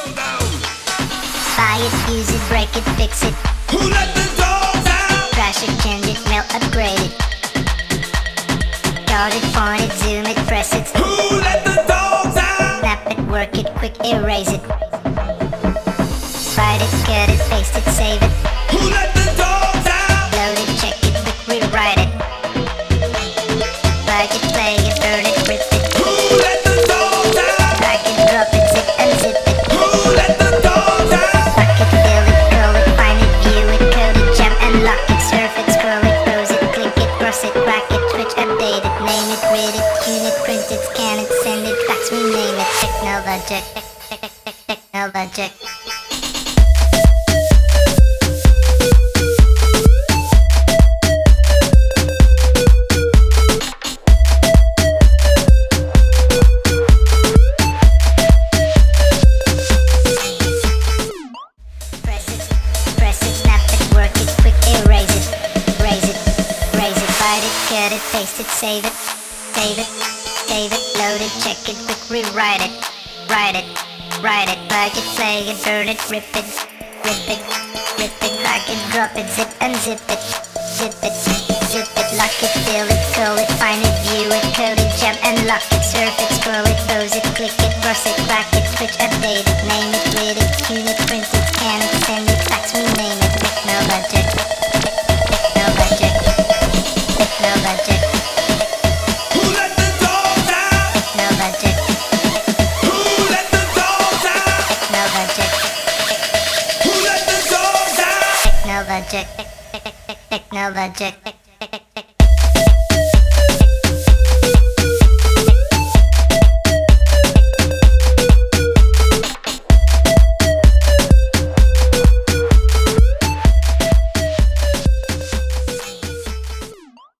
Buy it, use it, break it, fix it. Who let the dogs out? Crash it, change it, melt, upgrade it. Chart it, point it, zoom it, press it. Who let the dogs out? Snap it, work it, quick erase it. Write it, cut it, paste it, save it. Who let the dogs out? Load it, check it, quick rewrite it. Plug it, play it, burn it, rip it. Who let the dogs out? Drag it, drop it, zip and zip it. Who let the dogs out? Lock it, fill it, scroll it, find it, view it, code it, jump and lock it, surf it, scroll it, close it, click it, cross it, crack it, switch, update it, name it, read it, tune it, print it, scan it, send it, fax, rename it. Technologic, technologic. Press it, snap it, work it, quick erase it. Raise it, raise it, write it, cut it, paste it, save it. Save it, save it, load it, check it, quick rewrite it. Write it, write it, plug it, play it, burn it, rip it. Rip it, rip it, drag it, drop it, zip and zip it. Zip it, zip it, lock it, fill it, call it, find it, view it, code it, jump and lock it, surf it, scroll it, close it, click it, cross it, crack it, switch, update it, name it, read it, tune it, print it, scan it, send it, fax, rename it. Technologic, technologic, technologic, Who let the dogs out? technologic, Who let the dogs out? technologic, Who let the dogs out? technologic, technologic.